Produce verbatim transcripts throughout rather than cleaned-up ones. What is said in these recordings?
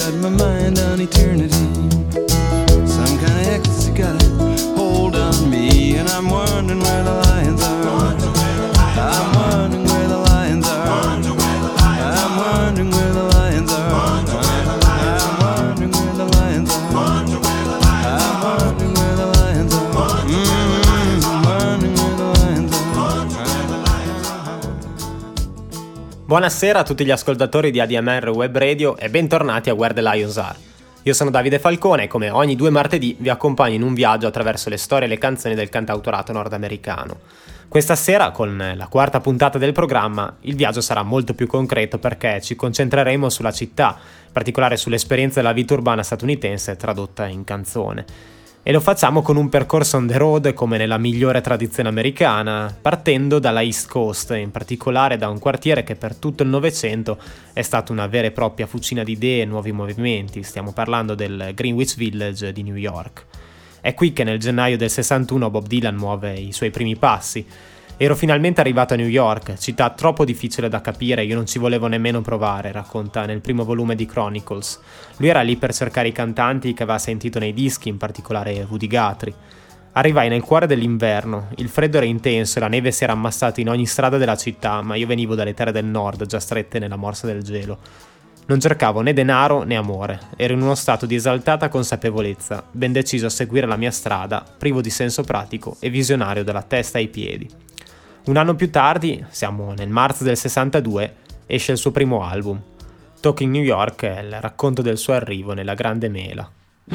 got my mind on eternity. Some kind of ecstasy got a hold on me, and I'm wondering where the lions are. I'm wondering where the lions are. I'm wondering where the lions are. I'm wondering where the lions are. I'm wondering where the lions are. Mm, wondering where the lions are. Buonasera a tutti gli ascoltatori di A D M R Web Radio e bentornati a Where the Lions Are. Io sono Davide Falcone e come ogni due martedì vi accompagno in un viaggio attraverso le storie e le canzoni del cantautorato nordamericano. Questa sera, con la quarta puntata del programma, il viaggio sarà molto più concreto perché ci concentreremo sulla città, in particolare sull'esperienza della vita urbana statunitense tradotta in canzone. E lo facciamo con un percorso on the road come nella migliore tradizione americana, partendo dalla East Coast, in particolare da un quartiere che per tutto il Novecento è stato una vera e propria fucina di idee e nuovi movimenti. Stiamo parlando del Greenwich Village di New York. È qui che nel gennaio del sessantuno Bob Dylan muove i suoi primi passi. Ero finalmente arrivato a New York, città troppo difficile da capire, io non ci volevo nemmeno provare, racconta nel primo volume di Chronicles. Lui era lì per cercare i cantanti che aveva sentito nei dischi, in particolare Woody Guthrie. Arrivai nel cuore dell'inverno, il freddo era intenso e la neve si era ammassata in ogni strada della città, ma io venivo dalle terre del nord, già strette nella morsa del gelo. Non cercavo né denaro né amore, ero in uno stato di esaltata consapevolezza, ben deciso a seguire la mia strada, privo di senso pratico e visionario dalla testa ai piedi. Un anno più tardi, siamo nel marzo del sessantadue, esce il suo primo album. Talking New York è il racconto del suo arrivo nella grande mela.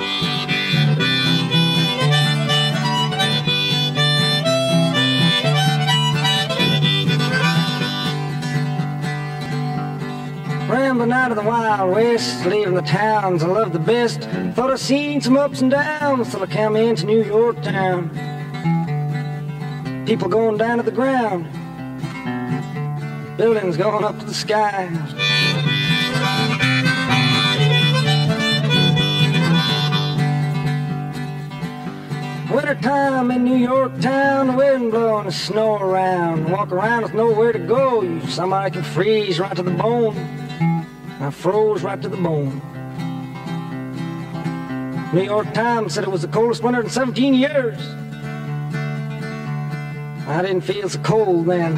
Rambling out of the Wild West, leaving the towns I love the best. Thought I'd seen some ups and downs till I came into New York town. People going down to the ground, buildings going up to the sky. Winter time in New York town, the wind blowing the snow around. Walk around with nowhere to go, you somebody can freeze right to the bone. I froze right to the bone. New York Times said it was the coldest winter in seventeen years. I didn't feel so cold then.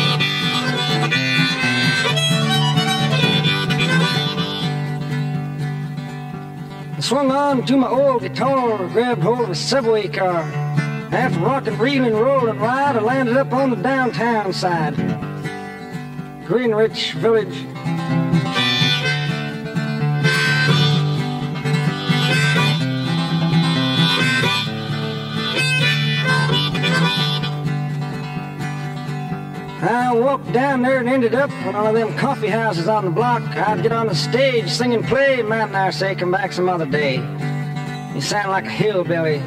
I swung on to my old guitar, grabbed hold of a subway car. After rocking, reeling, rolling ride, I landed up on the downtown side. Greenwich Village. I walked down there and ended up in one of them coffee houses on the block. I'd get on the stage, sing and play. Man, I say, come back some other day. You sound like a hillbilly.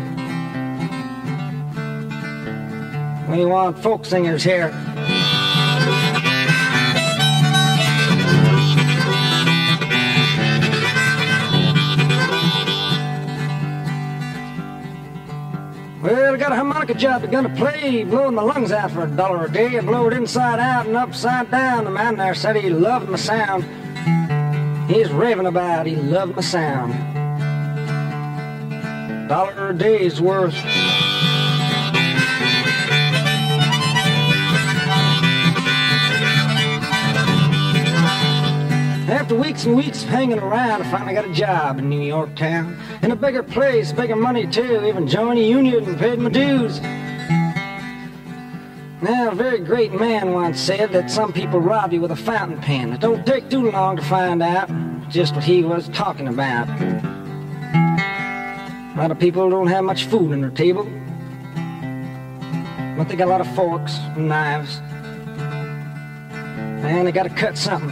We want folk singers here. Well, I got a harmonica job they're gonna play, blowing my lungs out for a dollar a day. I blow it inside out and upside down. The man there said he loved my sound. He's raving about he loved my sound. Dollar a day's worth. After weeks and weeks of hanging around, I finally got a job in New York town. In a bigger place, bigger money too, even joined a union and paid my dues. Now, a very great man once said that some people rob you with a fountain pen. It don't take too long to find out just what he was talking about. A lot of people don't have much food on their table, but they got a lot of forks and knives, and they gotta cut something.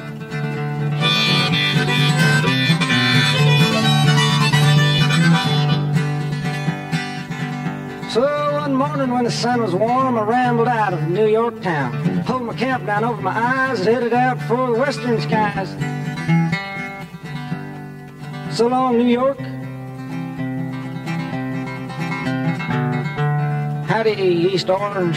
So one morning when the sun was warm, I rambled out of New York town. Pulled my cap down over my eyes and headed out for the western skies. So long, New York. Howdy, East Orange.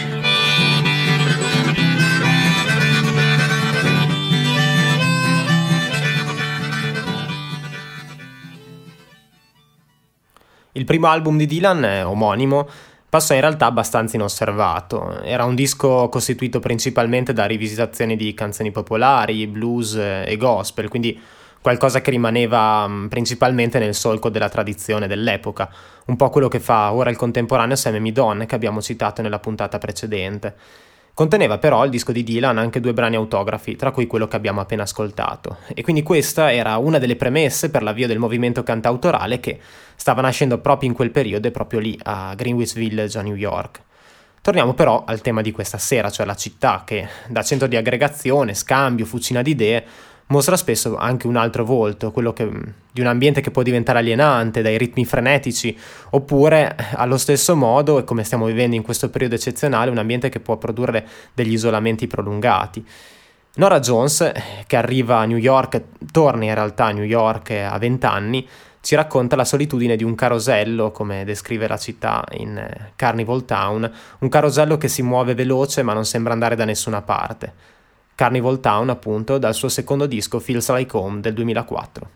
Il primo album di Dylan, eh, omonimo, passò in realtà abbastanza inosservato. Era un disco costituito principalmente da rivisitazioni di canzoni popolari, blues e gospel, quindi qualcosa che rimaneva mh, principalmente nel solco della tradizione dell'epoca, un po' quello che fa ora il contemporaneo Sam Amidon, che abbiamo citato nella puntata precedente. Conteneva però il disco di Dylan anche due brani autografi, tra cui quello che abbiamo appena ascoltato, e quindi questa era una delle premesse per l'avvio del movimento cantautorale che stava nascendo proprio in quel periodo e proprio lì a Greenwich Village a New York. Torniamo però al tema di questa sera, cioè la città che, da centro di aggregazione, scambio, fucina di idee, mostra spesso anche un altro volto, quello che, di un ambiente che può diventare alienante dai ritmi frenetici, oppure allo stesso modo, e come stiamo vivendo in questo periodo eccezionale, un ambiente che può produrre degli isolamenti prolungati. Norah Jones, che arriva a New York, torna in realtà a New York a vent'anni, ci racconta la solitudine di un carosello, come descrive la città in Carnival Town, un carosello che si muove veloce ma non sembra andare da nessuna parte. Carnival Town, appunto, dal suo secondo disco Feels Like Home del duemilaquattro.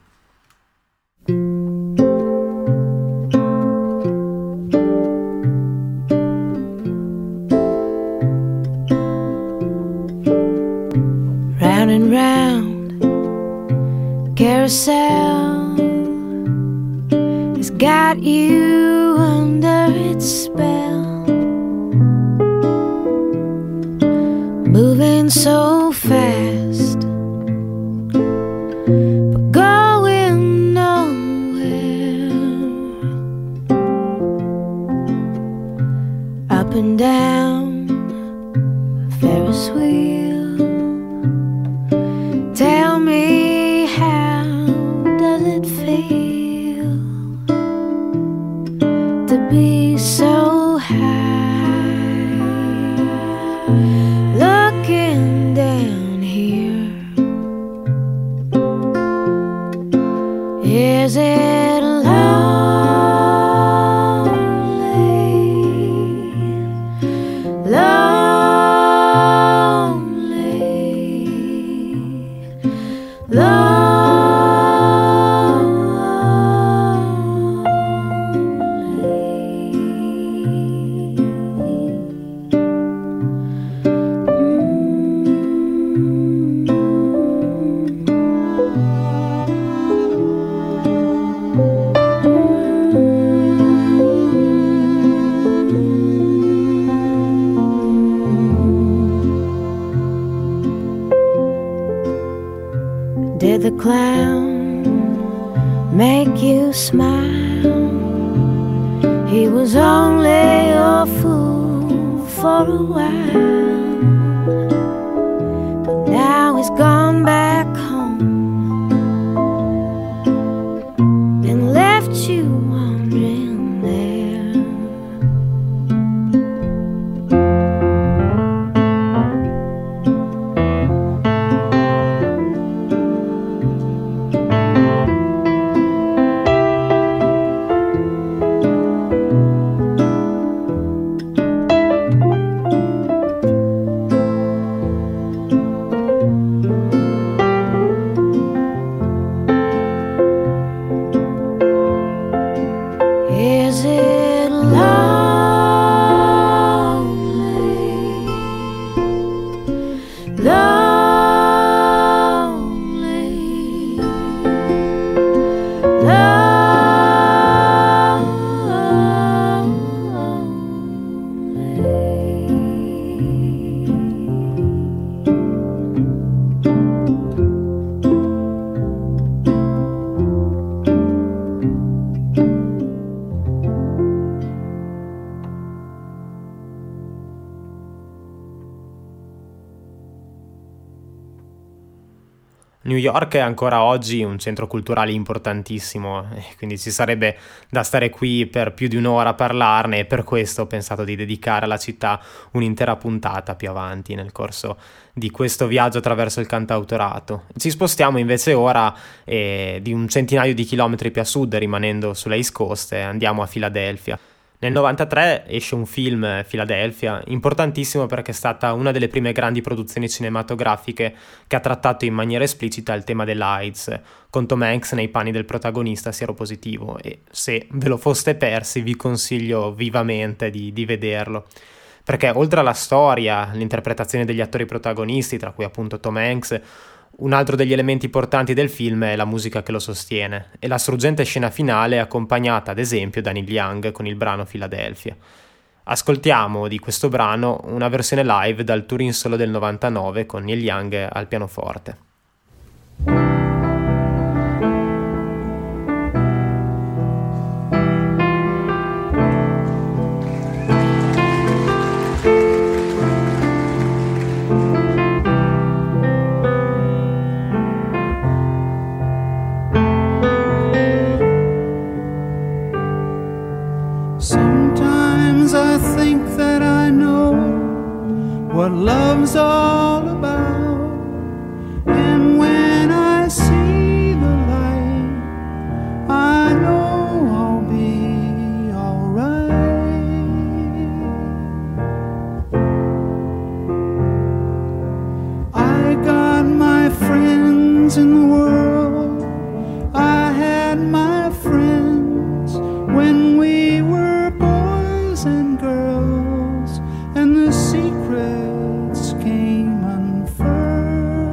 Round and round, carousel has got you under its spell, moving so fast, but going nowhere. Up and down a Ferris wheel. Tell me, how does it feel to be so high, looking down here? Is it lonely, lonely, lonely? Did the clown make you smile? He was only a fool for a while, but now he's gone back home and left you wandering there. Is it lonely, lonely, New York è ancora oggi un centro culturale importantissimo, e quindi ci sarebbe da stare qui per più di un'ora a parlarne, e per questo ho pensato di dedicare alla città un'intera puntata più avanti nel corso di questo viaggio attraverso il cantautorato. Ci spostiamo invece ora eh, di un centinaio di chilometri più a sud, rimanendo sulla East Coast, e andiamo a Filadelfia. Nel novantatré esce un film, Philadelphia, importantissimo perché è stata una delle prime grandi produzioni cinematografiche che ha trattato in maniera esplicita il tema dell'AIDS, con Tom Hanks nei panni del protagonista sieropositivo, e se ve lo foste persi vi consiglio vivamente di, di vederlo. Perché oltre alla storia, l'interpretazione degli attori protagonisti, tra cui appunto Tom Hanks, un altro degli elementi portanti del film è la musica che lo sostiene, e la struggente scena finale è accompagnata ad esempio da Neil Young con il brano Philadelphia. Ascoltiamo di questo brano una versione live dal tour in solo del novantanove con Neil Young al pianoforte. What love's all about, and when I see the light, I know I'll be alright. I got my friends in the world, I had my friends when we were boys and girls, and the secrets came unfurled.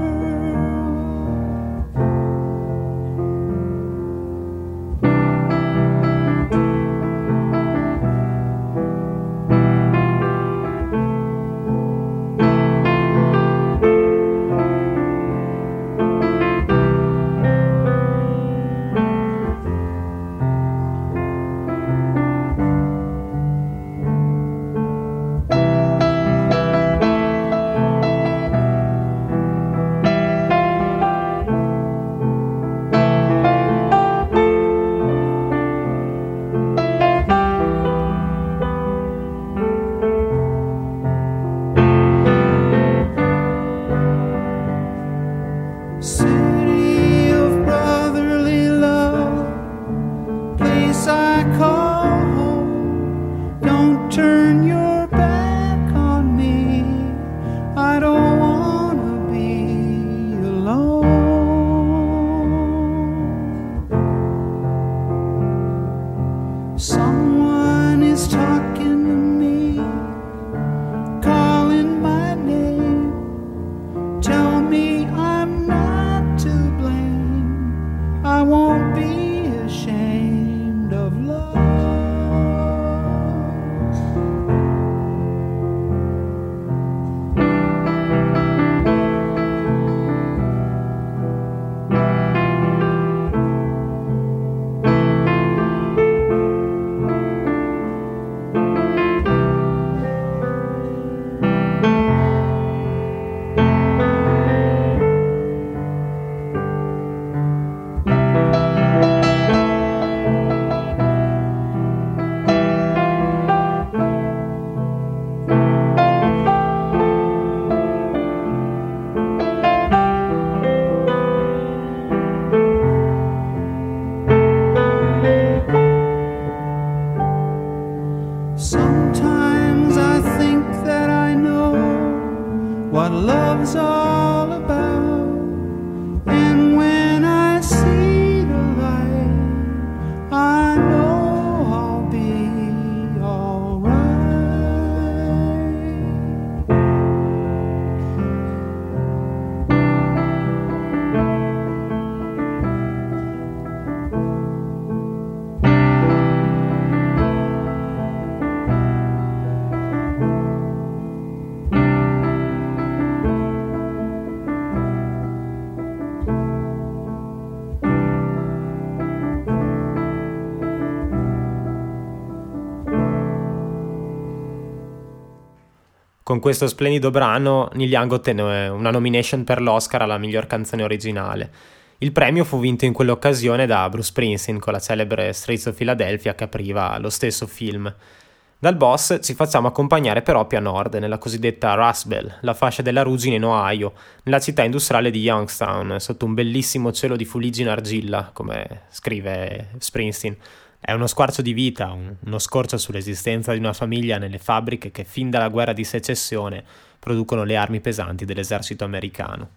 City of brotherly love, place I call home. Don't turn your back on me, I don't wanna be alone. Someone is talking to me, calling my name. Tell me I'm not to blame, I won't be ashamed of love. Sometimes I think that I know what love's all about, and when I see the light, I know I'll be alright. Con questo splendido brano Neil Young ottenne una nomination per l'Oscar alla miglior canzone originale. Il premio fu vinto in quell'occasione da Bruce Springsteen con la celebre Streets of Philadelphia che apriva lo stesso film. Dal boss ci facciamo accompagnare però più a nord, nella cosiddetta Rust Belt, la fascia della ruggine in Ohio, nella città industriale di Youngstown, sotto un bellissimo cielo di fuliggine argilla, come scrive Springsteen. È uno squarcio di vita, un, uno scorcio sull'esistenza di una famiglia nelle fabbriche che fin dalla guerra di secessione producono le armi pesanti dell'esercito americano.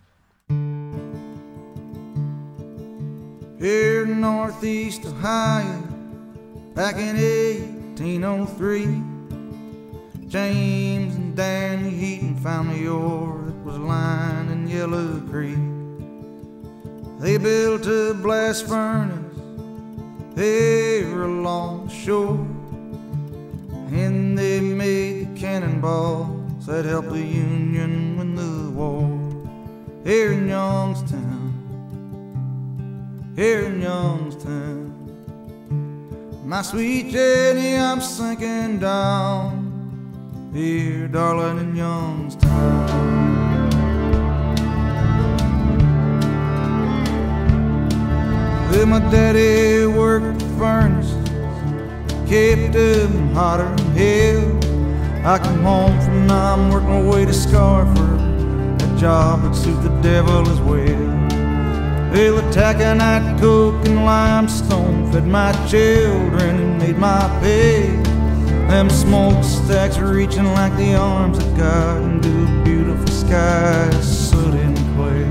Here in Northeast Ohio, back in eighteen oh three, James and Danny Heaton found the ore that was lying in Yellow Creek. They built a blast furnace there along the shore, and they made the cannonballs that helped the Union win the war. Here in Youngstown, here in Youngstown, my sweet Jenny, I'm sinking down here, darling, in Youngstown. Well, my daddy worked the furnaces, kept them hotter than hell. I come home from Nam, work my way to Scarford, a job that suit the devil as well. Well, the taconite, coke, and limestone fed my children and made my pay. Them smokestacks reaching like the arms of God into a beautiful sky, soot and clay.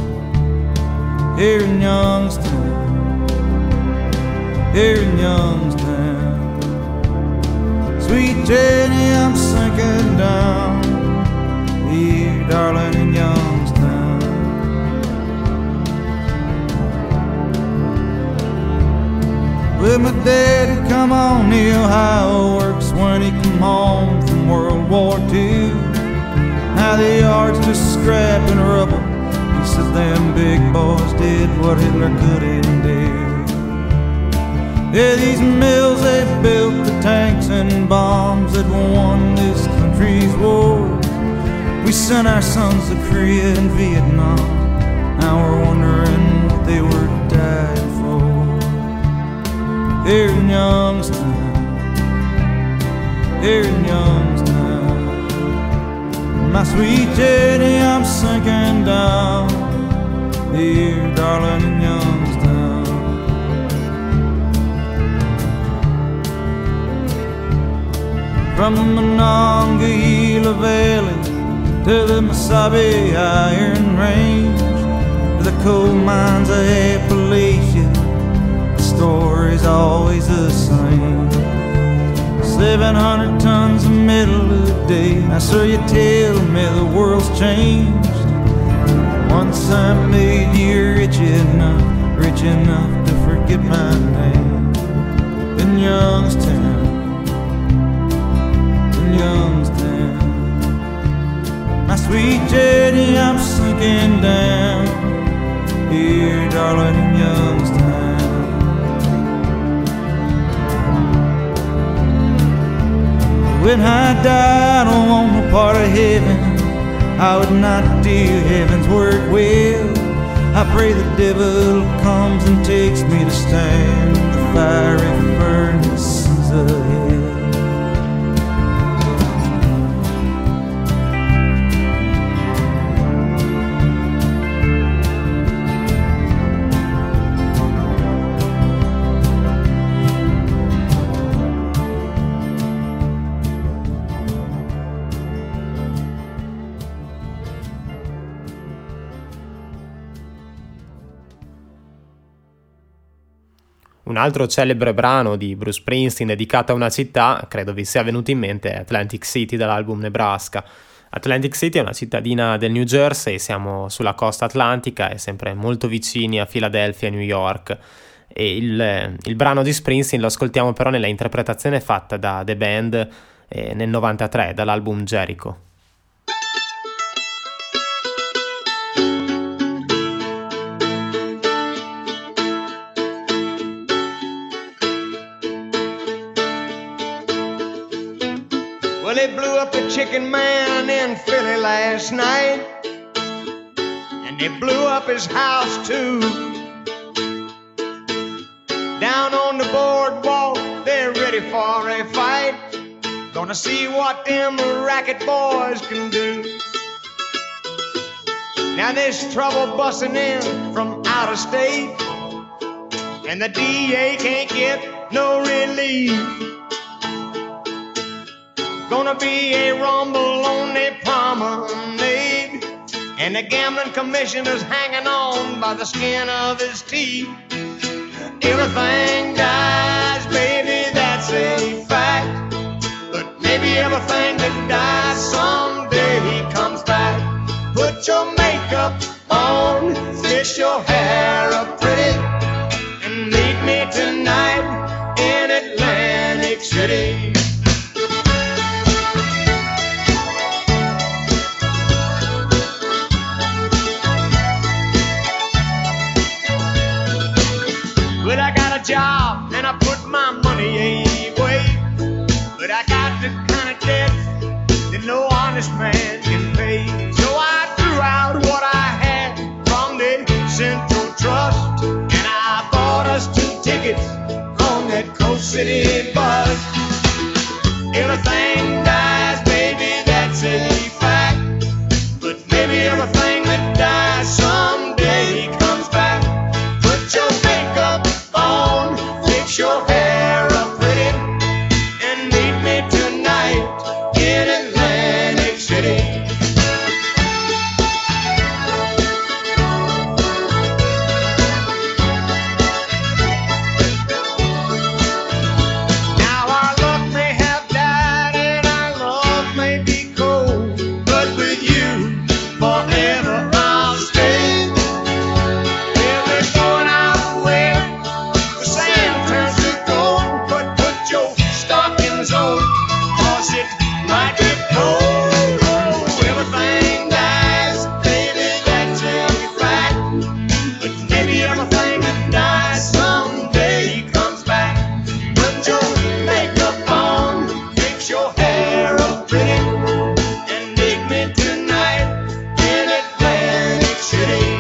Here in Youngstown, here in Youngstown, sweet Jenny, I'm sinking down here, darling, in Youngstown. Well, my daddy come on the Ohio Works when he come home from World War Two. Now the yard's just scrap and rubble. He says them big boys did what Hitler couldn't do. Yeah, these mills, they built the tanks and bombs that won this country's war. We sent our sons to Korea and Vietnam. Now we're wondering what they were dying for. Here in Youngstown, here in Youngstown, my sweet Jenny, I'm sinking down here, darling, in Youngstown. From the Monongahela Valley to the Mesabi Iron Range, to the coal mines of Appalachia, the story's always the same. Seven hundred tons of metal a day. Now sir, you tell me the world's changed. Once I made you rich enough, rich enough to forget my name. In Youngstown, in Youngstown, my sweet Jenny, I'm sinking down here, darling, in Youngstown. When I died on the part of heaven, I would not do heaven's work well. I pray the devil comes and takes me to stand the fiery furnaces of hell. Un altro celebre brano di Bruce Springsteen dedicato a una città, credo vi sia venuto in mente, è Atlantic City dall'album Nebraska. Atlantic City è una cittadina del New Jersey, siamo sulla costa atlantica e sempre molto vicini a Philadelphia e New York. E il, il brano di Springsteen lo ascoltiamo però nella interpretazione fatta da The Band eh, nel novantatré dall'album Jericho. Well, they blew up the Chicken Man in Philly last night, and they blew up his house too. Down on the boardwalk, they're ready for a fight. Gonna see what them racket boys can do. Now there's trouble busting in from out of state, and the D A can't get no relief. Gonna be a rumble on the promenade, and the gambling commissioner's hanging on by the skin of his teeth. Everything dies, baby, that's a fact. But maybe everything that dies someday comes back. Put your makeup on, fix your hair up pretty, and meet me tonight in Atlantic City. But I got a job and I put my money away, but I got the kind of debt that no honest man can pay. So I threw out what I had from the Central Trust, and I bought us two tickets on that Coast City bus. Everything dies, baby, that's a fact. But maybe everything that dies someday comes back. Put your makeup on, fix your hair up pretty, and meet me tonight in Atlantic City. Now our luck may have died and our love may be cold, but with you forever I'll stay. Well, we're going our way, the sand turns to gold, but put your stockings on, cause it might be cold. Oh, everything dies, baby, that's a fact. But maybe everything that dies someday comes back. Put your makeup on, fix your hair up pretty, and meet me tonight in Atlantic City.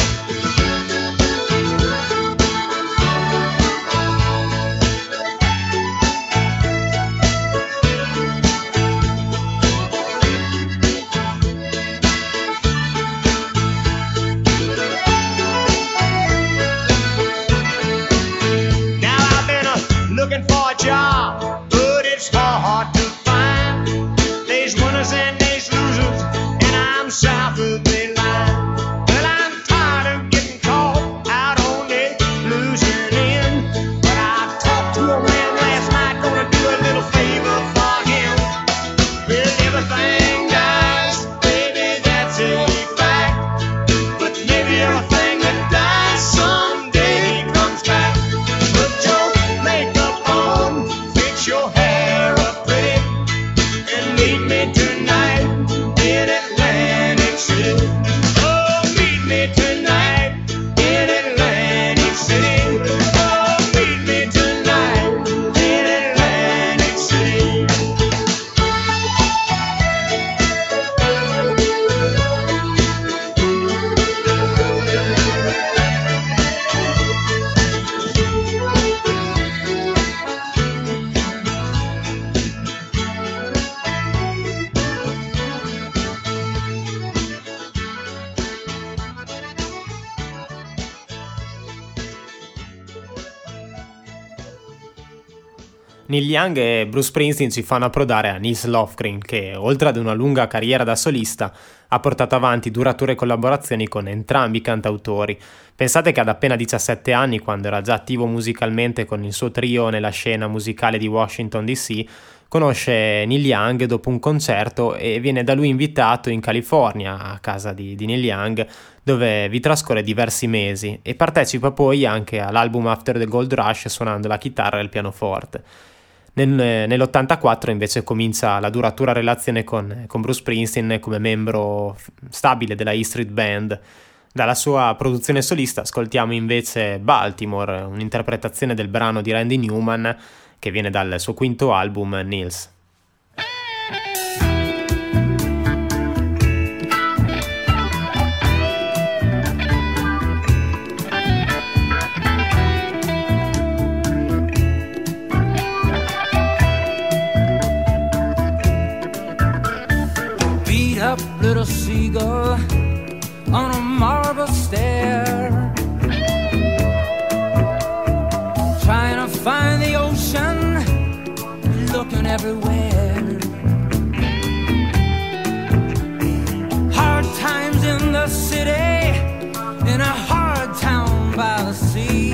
Now I've been uh, looking for a job, but it's hard to find. There's winners and there's losers, and I'm south of the line. Well, I'm tired of getting caught out on the losing end, but I talked to a man last night, gonna do a little favor for him. Well, everything dies, baby, that's a fact. But maybe everything that dies someday comes back. Put your makeup on, fix your hair up pretty, and meet me tonight in Atlantic City. Oh, meet me tonight in Atlantic City. Oh, meet me tonight in Atlantic City. Neil Young e Bruce Springsteen ci fanno approdare a Nils Lofgren, che oltre ad una lunga carriera da solista ha portato avanti durature collaborazioni con entrambi i cantautori. Pensate che ad appena diciassette anni, quando era già attivo musicalmente con il suo trio nella scena musicale di Washington D C, conosce Neil Young dopo un concerto e viene da lui invitato in California, a casa di, di Neil Young, dove vi trascorre diversi mesi e partecipa poi anche all'album After the Gold Rush suonando la chitarra e il pianoforte. Nel, nell'ottantaquattro invece comincia la duratura relazione con, con Bruce Springsteen come membro stabile della E Street Band. Dalla sua produzione solista ascoltiamo invece Baltimore, un'interpretazione del brano di Randy Newman che viene dal suo quinto album Nils. Beat up little seagull on a marble stair, trying to find the old everywhere. Hard times in the city, in a hard town by the sea.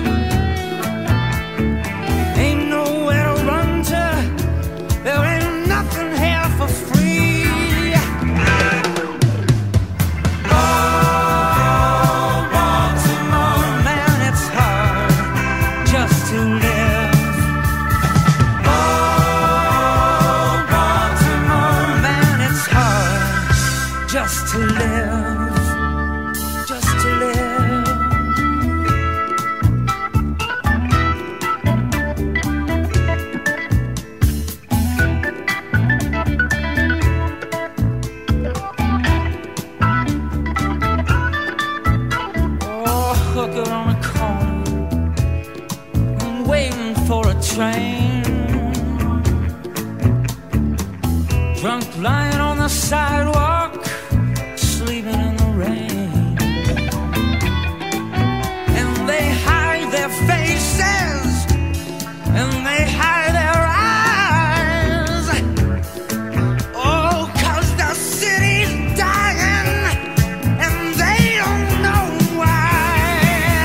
Ain't nowhere to run to, there ain't nothing here for free. Oh, Baltimore, man, it's hard just to live. Oh, Baltimore, man, it's hard just to live, just to live. Oh, hooker on the corner, I'm waiting for a train. Drunk lying on the sidewalk, sleeping in the rain. And they hide their faces, and they hide their eyes. Oh, 'cause the city's dying, and they don't know why.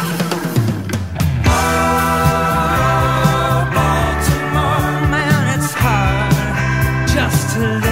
Oh, Baltimore, man, it's hard just to live.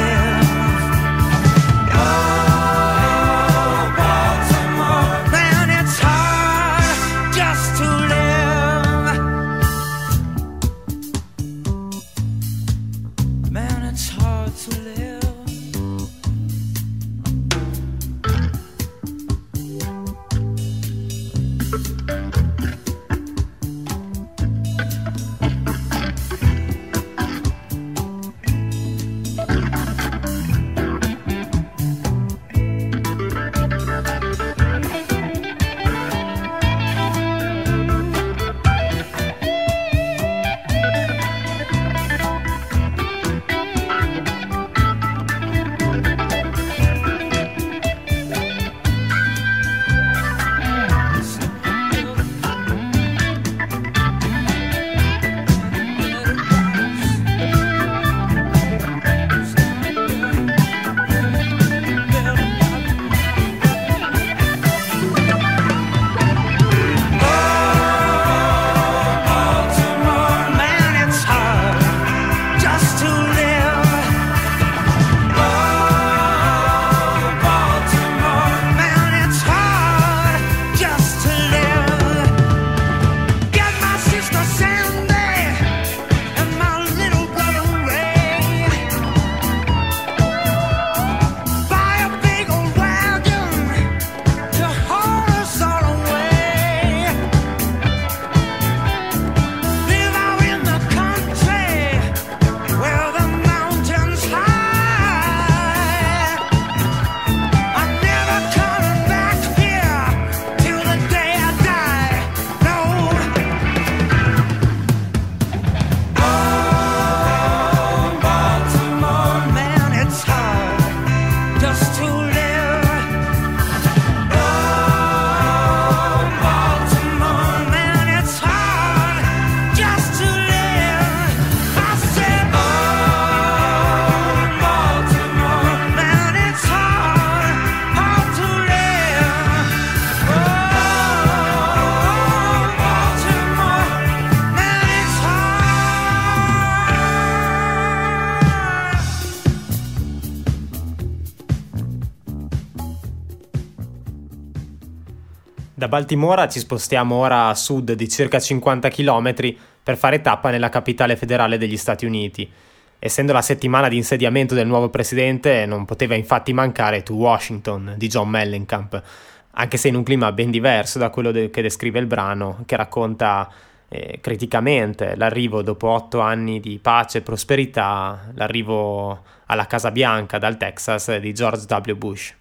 Da Baltimora ci spostiamo ora a sud di circa cinquanta chilometri per fare tappa nella capitale federale degli Stati Uniti. Essendo la settimana di insediamento del nuovo presidente, non poteva infatti mancare To Washington di John Mellencamp, anche se in un clima ben diverso da quello de- che descrive il brano, che racconta eh, criticamente l'arrivo dopo otto anni di pace e prosperità, l'arrivo alla Casa Bianca dal Texas di George W. Bush.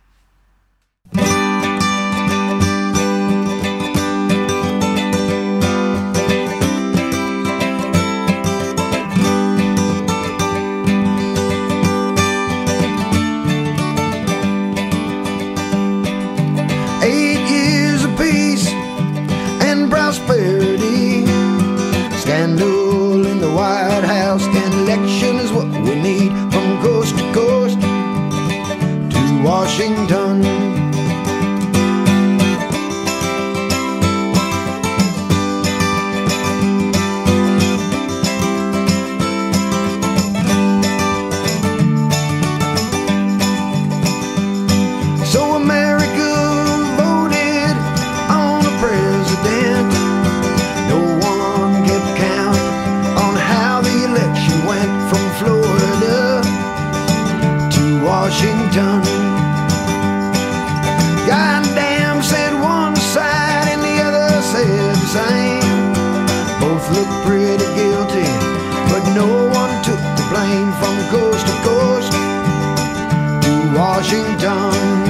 Scandal in the White House and election is what we need from coast to coast to Washington. So America voted on a president. No one kept count on how the election went from Florida to Washington. Goddamn, said one side and the other said the same. Both looked pretty guilty, but no one took the blame from coast to coast to Washington.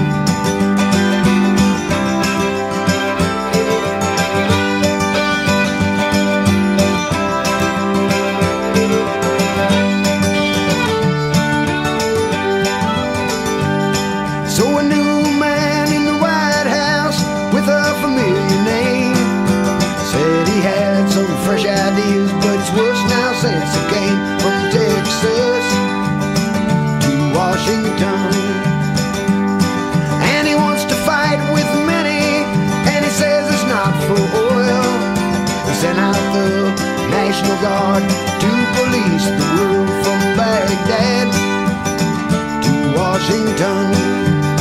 So a new man in the White House with a familiar name said he had some fresh ideas, but it's worse now since he came from Texas to Washington. And he wants to fight with many, and he says it's not for oil. He sent out the National Guard to police the road from Baghdad to Washington.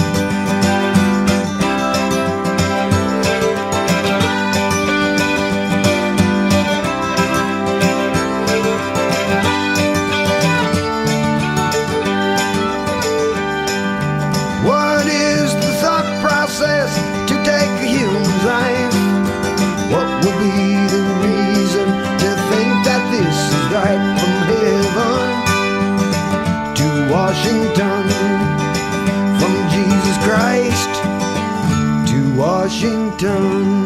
What is the thought process to take a human life? What will be the reason to think that this is right from heaven to Washington? From Jesus Christ to Washington.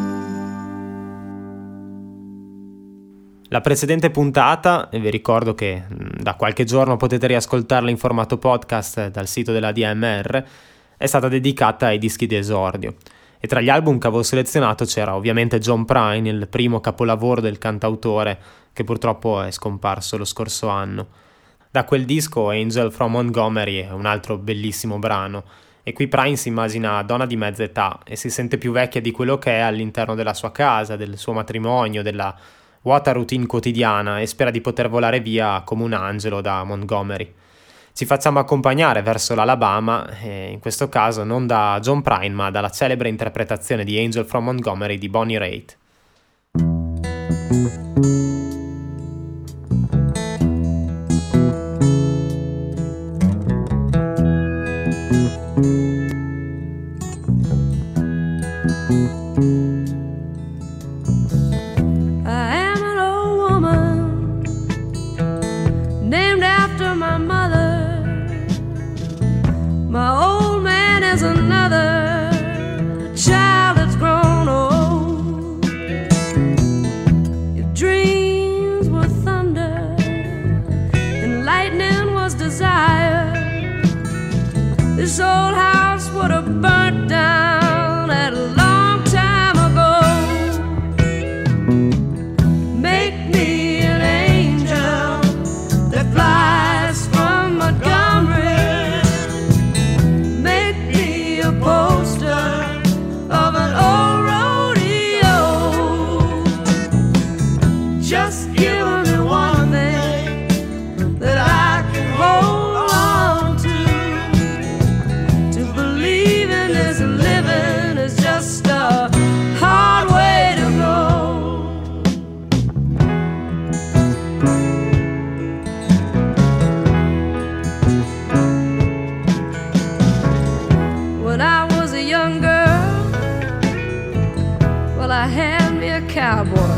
La precedente puntata, e vi ricordo che da qualche giorno potete riascoltarla in formato podcast dal sito della D M R, è stata dedicata ai dischi di esordio. E tra gli album che avevo selezionato c'era ovviamente John Prine, il primo capolavoro del cantautore che purtroppo è scomparso lo scorso anno. Da quel disco Angel from Montgomery è un altro bellissimo brano, e qui Prine si immagina donna di mezza età e si sente più vecchia di quello che è all'interno della sua casa, del suo matrimonio, della vuota routine quotidiana, e spera di poter volare via come un angelo da Montgomery. Ci facciamo accompagnare verso l'Alabama, e in questo caso non da John Prine ma dalla celebre interpretazione di Angel from Montgomery di Bonnie Raitt. This old house would have burnt down at a long time ago. Make me an angel that flies from Montgomery. Make me a poster of an old rodeo. Just give me one thing that I can hold. Living is just a hard way to go. When I was a young girl, well, I had me a cowboy.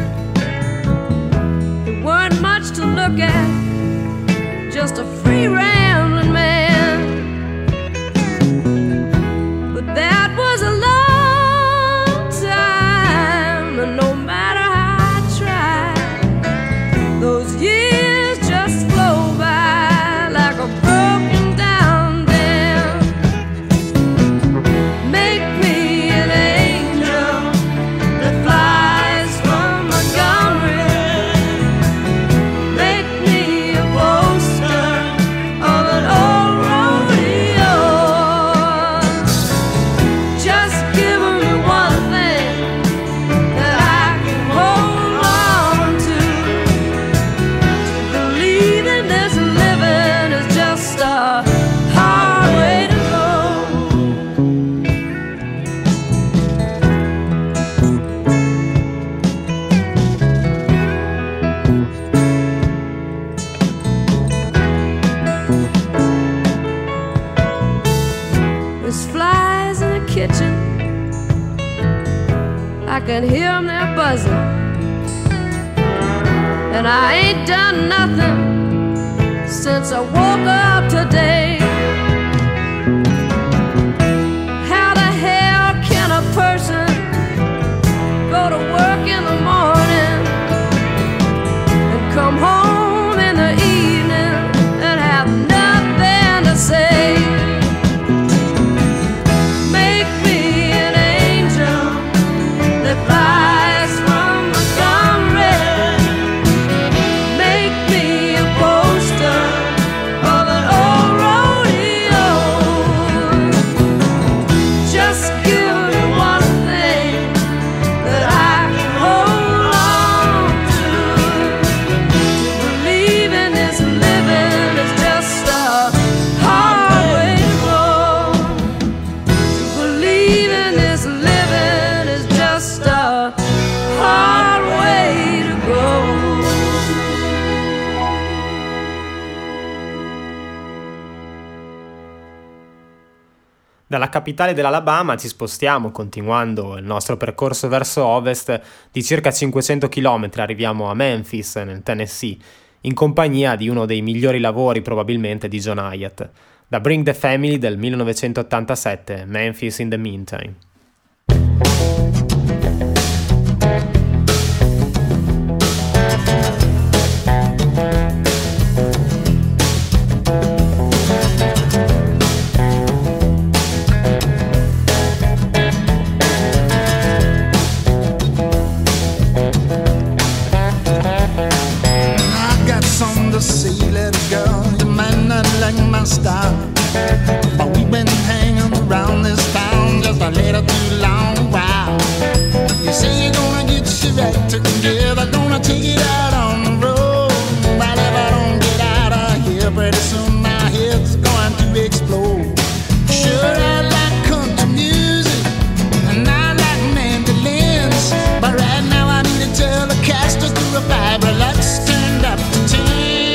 There weren't much to look at, just a free rambling man. That was a long time, and no matter how I tried, those years just flow by like a broken down dam. Make me an angel that flies from Montgomery. Make me can hear them there buzzing. And I ain't done nothing since I woke up today. How the hell can a person go to work in the morning and come home in the evening and have nothing to say? Make me an angel that flies from Montgomery. Make me a poster of an old rodeo. Just give me one thing that I can hold on to. To believe in this living is just a hard way to go. To believe in this living is just a hard way to go. Dalla capitale dell'Alabama ci spostiamo, continuando il nostro percorso verso ovest di circa cinquecento chilometri, arriviamo a Memphis, nel Tennessee, in compagnia di uno dei migliori lavori probabilmente di John Hiatt, da Bring the Family del millenovecentottantasette, Memphis in the Meantime. I got something to say, little girl. You might not like my style, but we've been hanging around this town just a little too long while. You say you're gonna get your right together, gonna take it out on the road. But if I don't get out of here pretty soon, my head's going to explode. Sure, I like country music and I like mandolins, but right now I need a Telecaster to a vibe relax turned up to ten.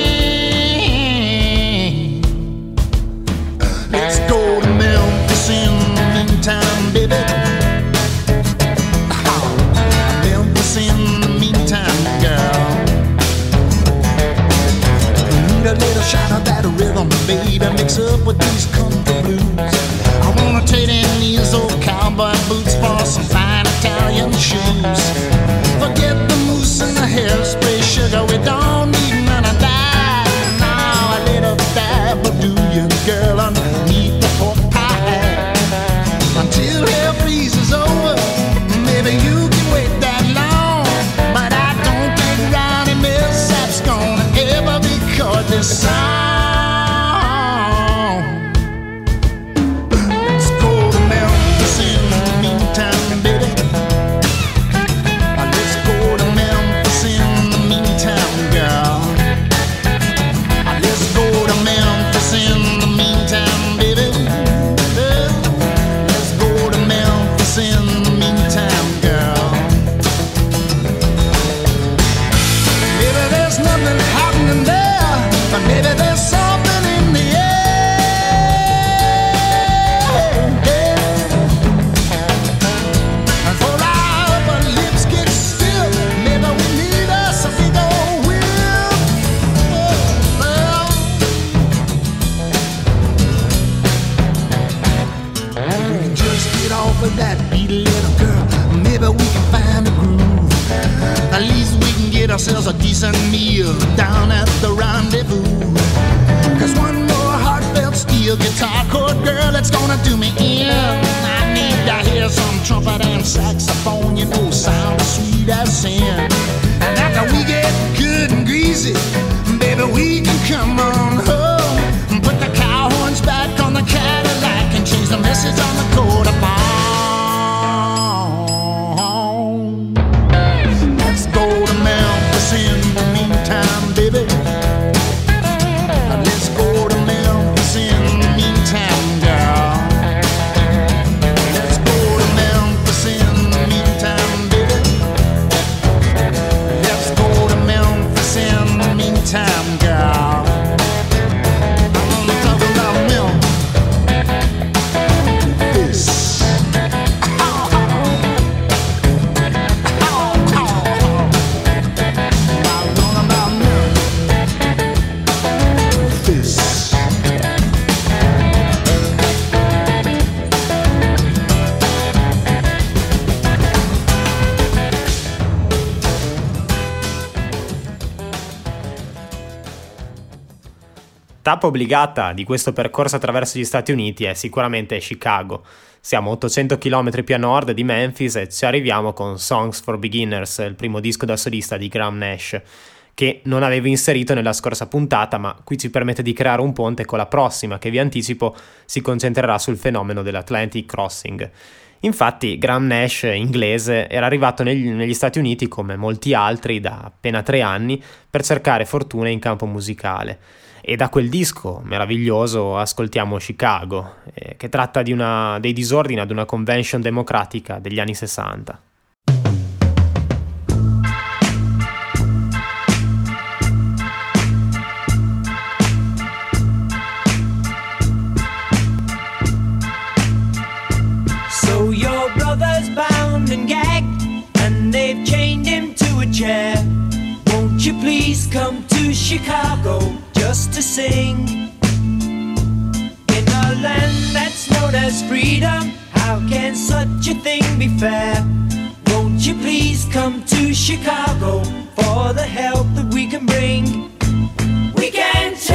Let's go to Memphis in the meantime, baby. Oh, Memphis in the meantime, girl. Need a little shot of that rhythm, baby, mix up with these country blues. I wanna trade in these old cowboy boots for some fine Italian shoes. Forget the mousse and the hairspray, sugar, we don't need none of that. Now a little dab will do you, girl, underneath the pork pie. Until hell freezes over, maybe you can wait that long. But I don't think Ronnie Millsap's gonna ever record this song. Let's go to Memphis in the meantime, baby. Let's go to Memphis in the meantime, girl. Let's go to Memphis in the meantime, baby. Let's go to Memphis in the meantime, girl. Maybe there's nothing happening there, but maybe there's something in the air. And for our upper lips get still, maybe we need us a big old whip. Well, we can just get off of that beat, little girl. Maybe we can find a groove. At least we can get ourselves a decent meal down at the rendezvous. Cause one more heartfelt steel guitar chord, girl, it's gonna do me in. I need to hear some trumpet and saxophone, you know, sound as sweet as sin. And after we get good and greasy, baby, we can come on home and put the cow horns back on the Cadillac and change the message on the coat of palm. Let's go to Memphis in the meantime, baby. Let's go to Memphis in the meantime, girl. Let's go to Memphis in the meantime, baby. Let's go to Memphis in the meantime, girl. I'm talking about Memphis. tappa obbligata di questo percorso attraverso gli Stati Uniti è sicuramente Chicago. Siamo ottocento chilometri più a nord di Memphis e ci arriviamo con Songs for Beginners, il primo disco da solista di Graham Nash, che non avevo inserito nella scorsa puntata, ma qui ci permette di creare un ponte con la prossima, che vi anticipo si concentrerà sul fenomeno dell'Atlantic Crossing. Infatti Graham Nash, inglese, era arrivato negli, negli Stati Uniti come molti altri da appena tre anni per cercare fortuna in campo musicale. E da quel disco meraviglioso ascoltiamo Chicago, eh, che tratta di una, dei disordini ad una convention democratica degli anni sessanta. So your brother's bound and gagged, and they've chained him to a chair. Won't you please come to Chicago just to sing? In a land that's known as freedom, how can such a thing be fair? Won't you please come to Chicago for the help that we can bring? We can change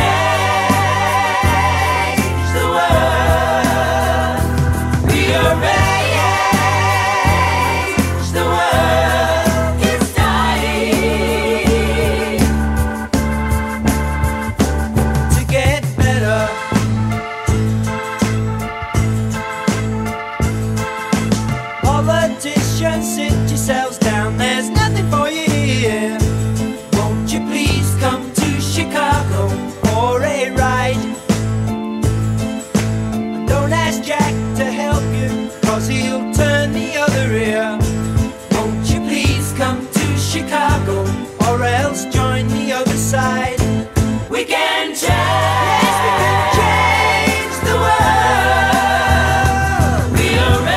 the world. We are ready. Sit yourselves down, there's nothing for you here. Won't you please come to Chicago for a ride? Don't ask Jack to help you, cause he'll turn the other ear. Won't you please come to Chicago, or else join the other side? We can change, yes, we can change the world. We are ready.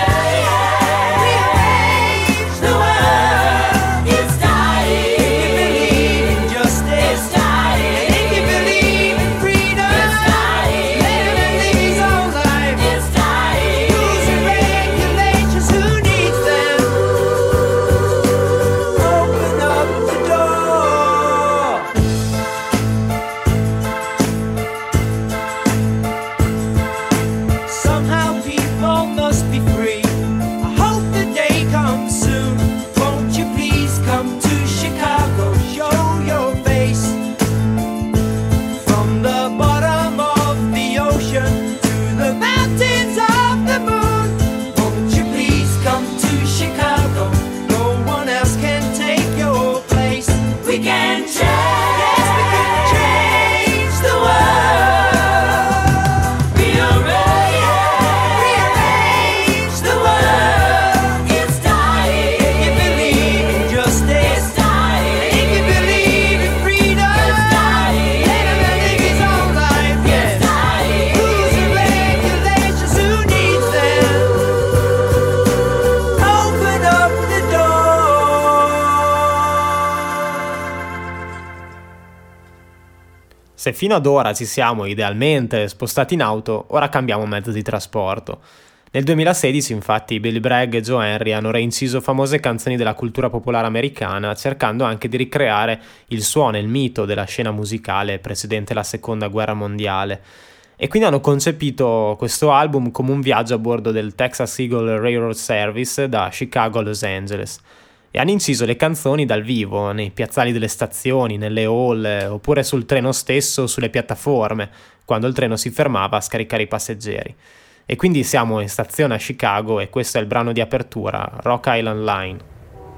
Se fino ad ora ci siamo idealmente spostati in auto, ora cambiamo mezzo di trasporto. Nel duemilasedici, infatti, Billy Bragg e Joe Henry hanno reinciso famose canzoni della cultura popolare americana, cercando anche di ricreare il suono e il mito della scena musicale precedente la Seconda Guerra Mondiale. E quindi hanno concepito questo album come un viaggio a bordo del Texas Eagle Railroad Service da Chicago a Los Angeles. E hanno inciso le canzoni dal vivo, nei piazzali delle stazioni, nelle hall, oppure sul treno stesso o sulle piattaforme, quando il treno si fermava a scaricare i passeggeri. E quindi siamo in stazione a Chicago e questo è il brano di apertura, Rock Island Line.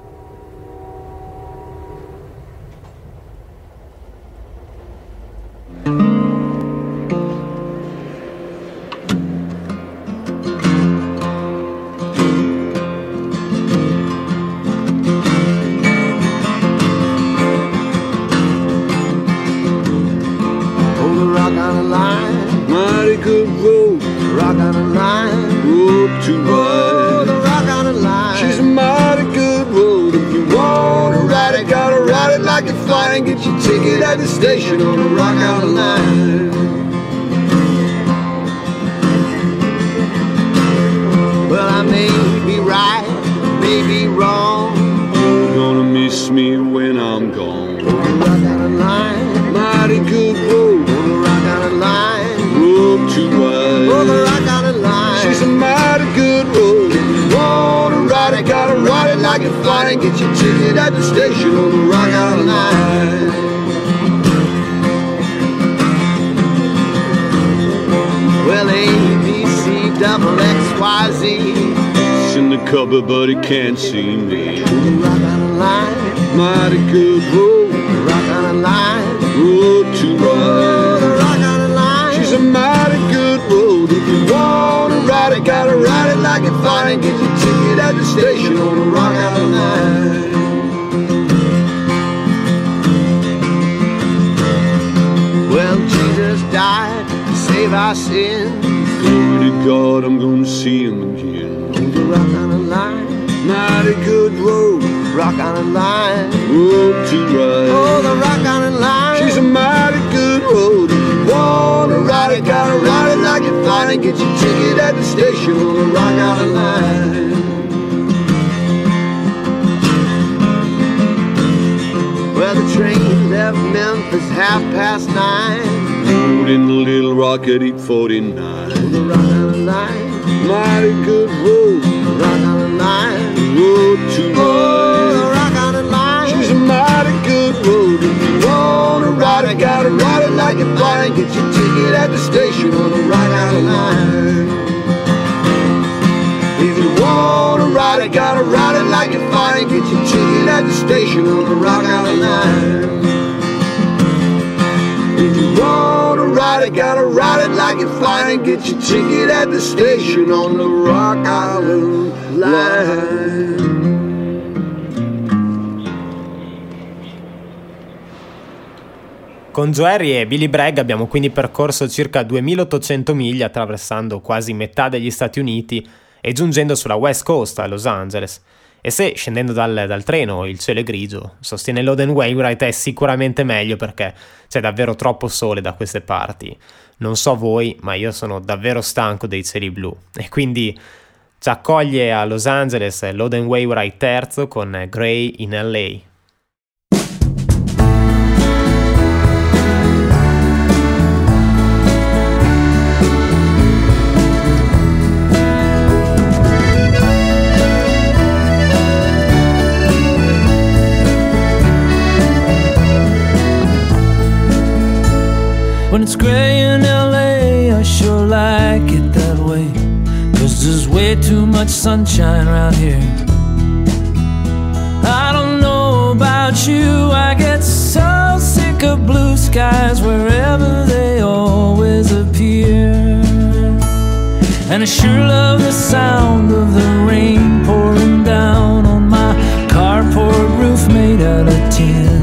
Get your ticket at the station on the Rock Island Line. Well, I may be right, may be wrong. You're gonna miss me when I'm gone. On the Rock Island Line, mighty good road. On the Rock Island Line. and get your ticket at the station on the Rock Island Line. Well, A, B, C, double X, Y, Z. It's in the cupboard, but he can't see me. On the Rock Island Line, Mighty good road, the Rock Island Line, road to oh, ride. the Rock Island Line. She's a mighty good road. If you wanna ride it, gotta ride it like it's fine and get your ticket at the station on the Rock Island Line. Well, Jesus died to save our sins. Glory to God, I'm gonna see him again. On the Rock Island Line, Mighty good road, Rock Island Line, road to ride. oh, the Rock Island Line. She's a mighty good road. If you wanna ride it, gotta ride it like it's fine and get your ticket at the station on the Rock Island Line. Well, the train left Memphis half past nine. Rode in the Little Rock at eight forty-nine. On the Rock Island Line, Mighty good road, the Rock Island Line, road to oh, the ride. Rock Island Line. She's a mighty good road. If you wanna ride it, gotta ride it like it's fine and get your ticket at the station on the Rock Island Line. If you wanna ride it, gotta ride it like it's fine and get your ticket at the station on the Rock Island Line. If you wanna ride it, gotta ride it like it's fine and get your ticket at the station on the Rock Island Line. Con Joe Harry e Billy Bragg abbiamo quindi percorso circa duemilaottocento miglia attraversando quasi metà degli Stati Uniti e giungendo sulla West Coast a Los Angeles. E se scendendo dal, dal treno il cielo è grigio, sostiene Loden Wainwright, è sicuramente meglio perché c'è davvero troppo sole da queste parti. Non so voi, ma io sono davvero stanco dei cieli blu. E quindi ci accoglie a Los Angeles Loden Wainwright terzo con Gray in L A. When it's gray in L A, I sure like it that way, 'cause there's way too much sunshine around here. I don't know about you, I get so sick of blue skies wherever they always appear. And I sure love the sound of the rain pouring down on my carport roof made out of tin.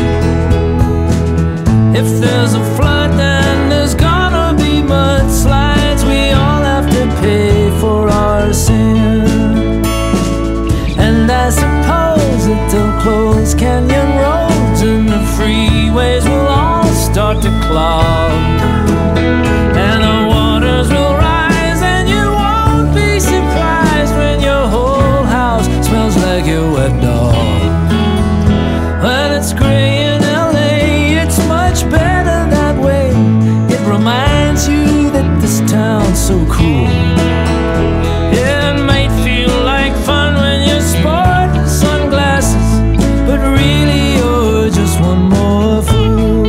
If there's a flood, then there's gonna be mudslides. We all have to pay for our sin. And I suppose that they'll close canyon roads and the freeways will all start to clog. And the waters will rise and you won't be surprised when your whole house smells like your wet dog. When it's gray in L A, it's much better that way. It reminds you that this town's so cool. Yeah, it might feel like fun when you're sporting sunglasses, but really you're just one more fool.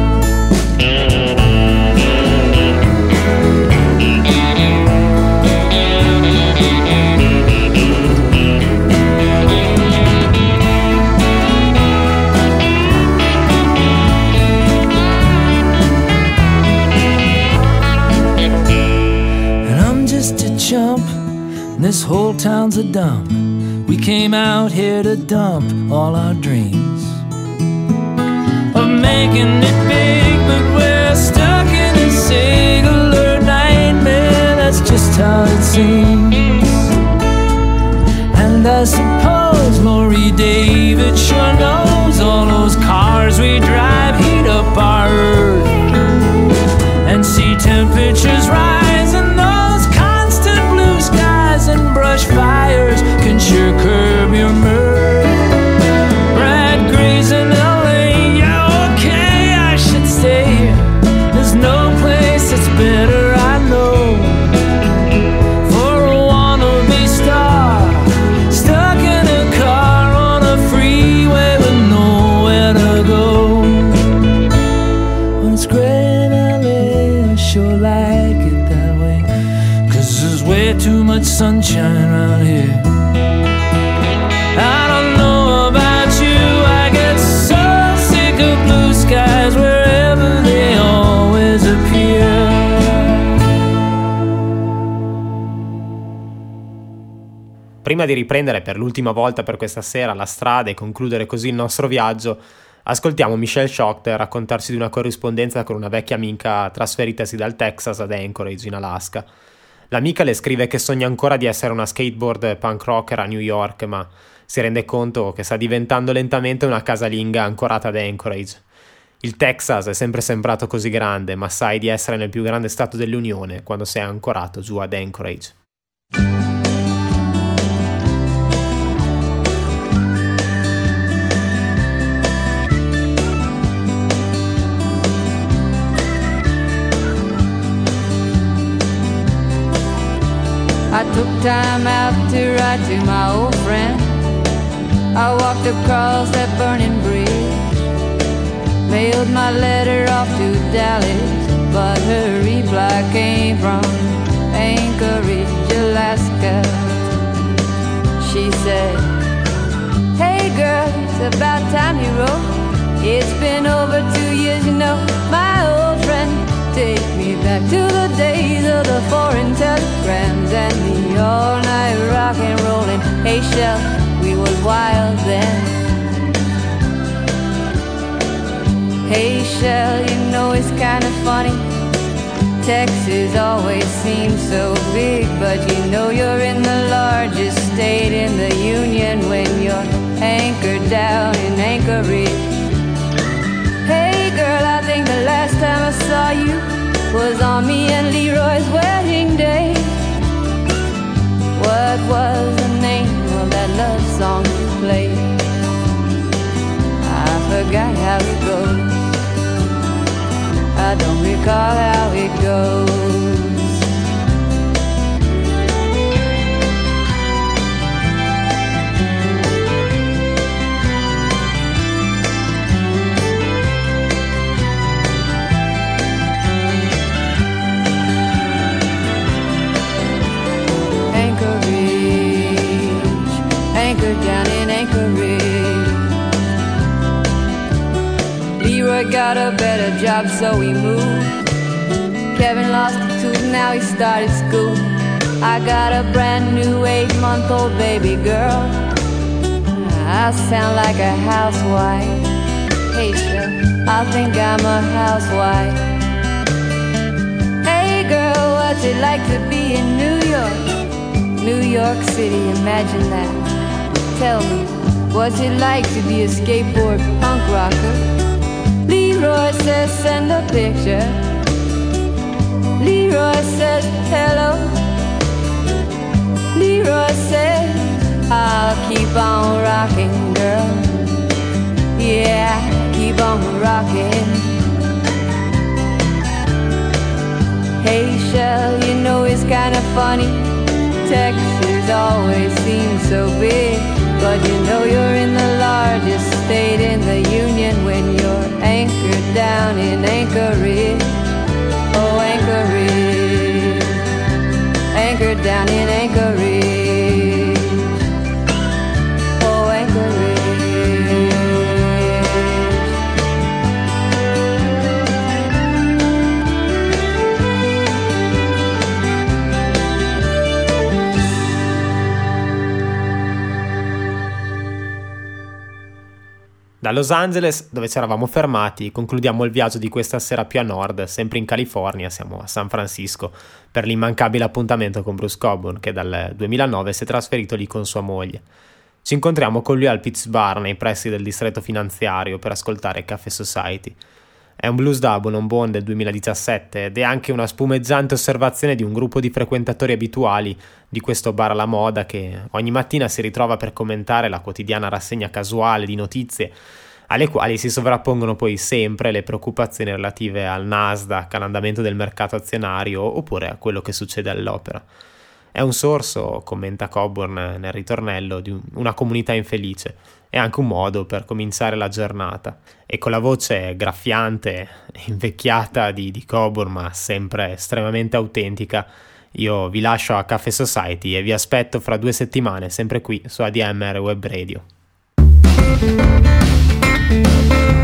This whole town's a dump. We came out here to dump all our dreams of making it big, but we're stuck in a singular nightmare. That's just how it seems. And I suppose Lori David sure knows all those cars we drive heat up our earth and see temperatures rise, and those constant blue skies and brush fires can sure curb your mirth. Brad Gray's in L A, yeah, okay, I should stay here. There's no place that's better, I know, for a wannabe star stuck in a car on but sunshine around here. I don't know about you, I get so sick of blue skies wherever they always appear. Prima di riprendere per l'ultima volta per questa sera la strada e concludere così il nostro viaggio, ascoltiamo Michelle Schochter raccontarsi di una corrispondenza con una vecchia amica trasferitasi dal Texas ad Anchorage in Alaska. L'amica le scrive che sogna ancora di essere una skateboard punk rocker a New York, ma si rende conto che sta diventando lentamente una casalinga ancorata ad Anchorage. Il Texas è sempre sembrato così grande, ma sai di essere nel più grande stato dell'Unione quando sei ancorato giù ad Anchorage. I took time out to write to my old friend. I walked across that burning bridge, mailed my letter off to Dallas, but her reply came from Anchorage, Alaska. She said, "Hey girl, it's about time you wrote. It's been over two years, you know, my old friend. Take me back to the days of the foreign telegrams and the all-night rock and rollin'. Hey, Shell, we was wild then. Hey, Shell, you know it's kind of funny. Texas always seems so big, but you know you're in the largest state in the Union when you're anchored down in Anchorage. Hey girl, I think the last time I saw you was on me and Leroy's wedding day. What was the name of that love song you played? I forgot how it goes. I don't recall how it goes. Down in Anchorage, Leroy got a better job, so he moved. Kevin lost a tooth, now he started school. I got a brand new eight-month-old baby girl. I sound like a housewife. Hey, Shell, I think I'm a housewife. Hey, girl, what's it like to be in New York? New York City, imagine that. Tell me, what's it like to be a skateboard punk rocker? Leroy says send a picture. Leroy says hello. Leroy says I'll keep on rocking, girl. Yeah, keep on rocking. Hey, Shell, you know it's kinda funny. Texas always seems so big, but you know you're in the largest state in the Union when you're anchored down in Anchorage. Oh, Anchorage, anchored down in Anchorage. Oh, Anchorage. Da Los Angeles, dove ci eravamo fermati, concludiamo il viaggio di questa sera più a nord, sempre in California, siamo a San Francisco, per l'immancabile appuntamento con Bruce Cockburn, che dal duemilanove si è trasferito lì con sua moglie. Ci incontriamo con lui al Pips Bar, nei pressi del distretto finanziario, per ascoltare Café Society. È un blues double on bone del duemiladiciassette ed è anche una spumeggiante osservazione di un gruppo di frequentatori abituali di questo bar alla moda che ogni mattina si ritrova per commentare la quotidiana rassegna casuale di notizie, alle quali si sovrappongono poi sempre le preoccupazioni relative al Nasdaq, all'andamento del mercato azionario oppure a quello che succede all'opera. È un sorso, commenta Cockburn nel ritornello, di una comunità infelice. È anche un modo per cominciare la giornata. E con la voce graffiante e invecchiata di, di Cockburn, ma sempre estremamente autentica, Io vi lascio a Caffè Society e vi aspetto fra due settimane, sempre qui su A D M R Web Radio.